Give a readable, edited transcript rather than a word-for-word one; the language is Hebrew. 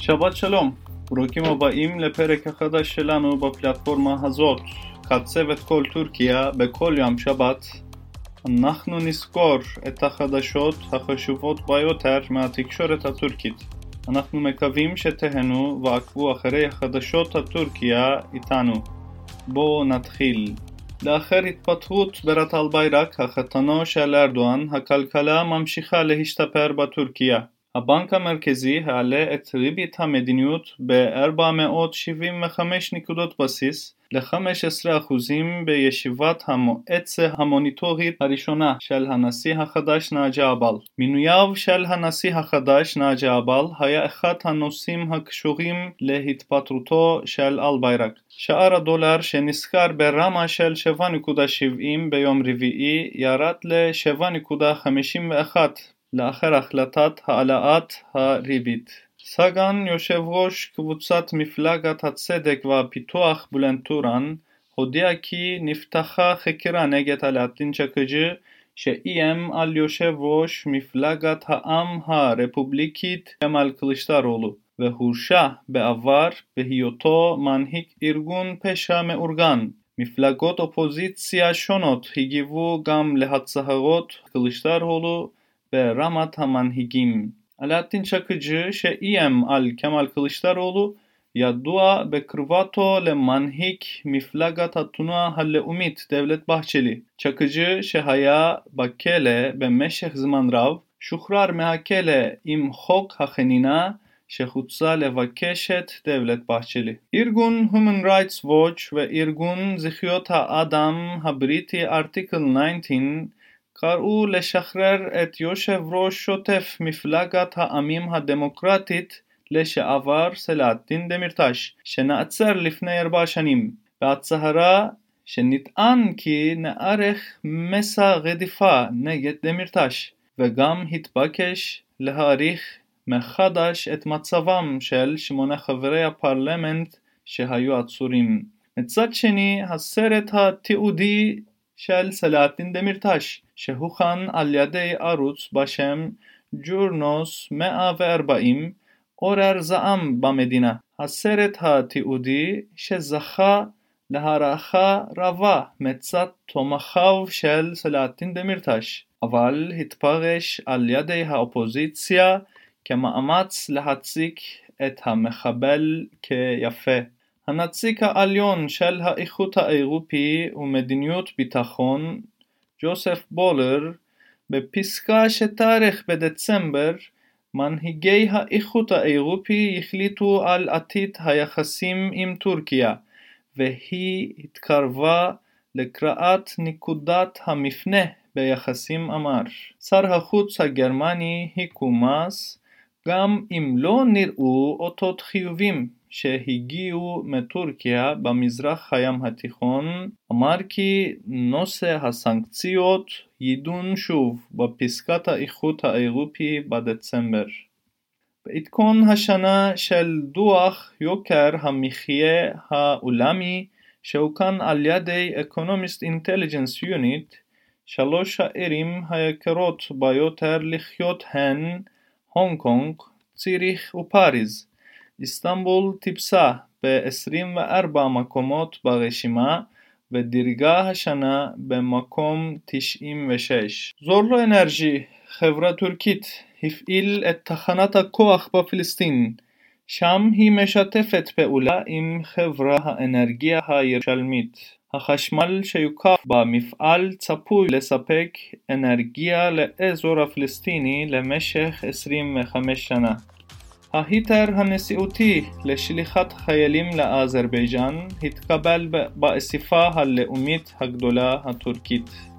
שבת שלום, ברוכים הבאים לפרק החדש שלנו בפלטפורמה הזאת. כצוות כל טורקיה בכל יום שבת אנחנו נזכור את החדשות החשובות ביותר מהתקשורת הטורקית. אנחנו מקווים שתהנו ועקבו אחרי החדשות הטורקיה איתנו. בואו נתחיל. לאחר התפטרות בירת אלבייrak, החתנו של ארדואן, הכלכלה ממשיכה להשתפר בטורקיה. הבנק המרכזי העלה את ריבית המדיניות ב-475 נקודות בסיס ל-15% בישיבת המועצה המוניטורית הראשונה של הנשיא החדש נאג'י אבל. מינויו של הנשיא החדש נאג'י אבל היה אחד הנושאים הקשורים להתפטרותו של אלבייrak. שער הדולר שנסחר ברמה של 7.70 ביום רביעי ירד ל-7.51 לאחר החלטת העלאת הריבית. סגן יושב ראש קבוצת מפלגת הצדק והפיתוח בולנד טורן הודיע כי נפתחה חקירה נגד אלאדין צ'קıcı שאיים על יושב ראש מפלגת העם הרפובליקית כמאל קılıçdaroğlu והורשע בעבר בהיותו מנהיג ארגון פשע מאורגן. מפלגות אופוזיציה שונות הגיבו גם להצהרות קılıçdaroğlu ברמת המנהיגים. אלאדין צ'קıcı שאיים על כמאל קılıçdaroğlu ידוע בקרבתו למנהיג מפלגת התנועה הלאומית דבלט בהצ'לי. צ'קıcı שהיה בכלא במשך זמן רב שוחרר מהכלא עם חוק החנינה שחוצה לבקשת דבלט בהצ'לי. ארגון Human Rights Watch וארגון זכויות האדם הבריטי Article 19 קראו לשחרר את יושב ראש שוטף מפלגת העמים הדמוקרטית לשעבר סלאהדין דמירטש שנעצר לפני 4 שנים. בהצהרה שנטען כי נערך מסע רדיפה נגד דמירטש וגם התבקש להאריך מחדש את מצבם של 8 חברי הפרלמנט שהיו עצורים. מצד שני, הסרט התיעודי של סלאהדין דמירטש שהוכן על ידי ערוץ בשם ג'ורנוס 140 עורר זעם במדינה. הסרט התיעודי שזכה להערכה רבה מצד תומכיו של סלאהדין דמירטש, אבל התפרש על ידי האופוזיציה כמאמץ להציג את המחבל כיפה. הנציג העליון של האיחוד האירופי ומדיניות ביטחון ג'וסף בולר בפסקה שתארך בדצמבר מנהיגי האיחוד האירופי החליטו על עתיד היחסים עם טורקיה והיא התקרבה לקראת נקודת המפנה ביחסים אמר. שר החוץ הגרמני היקו מאס גם אם לא נראו אותות חיובים שהגיעו מטורקיה במזרח הים התיכון, אמר כי נושא הסנקציות יידון שוב בפסקת האיחוד האירופי בדצמבר. בעדכון השנה של דוח יוקר המחיה העולמי שהוקן על ידי Economist Intelligence Unit, 3 הערים היקרות ביותר לחיות הן הונג קונג, ציריך ופריז. איסטנבול טיפסה ב-24 מקומות ברשימה ודירגה השנה במקום 96. זורלו אנרג'י, חברה טורקית, הפעיל את תחנת הכוח בפלסטין. שם היא משתפת פעולה עם חברה האנרגיה הירושלמית. החשמל שיוקם במפעל צפוי לספק אנרגיה לאזור הפלסטיני למשך 25 שנה. ההיתר הנשיאותי לשליחת חיילים לאזרבייג'אן התקבל באספה הלאומית הגדולה הטורקית.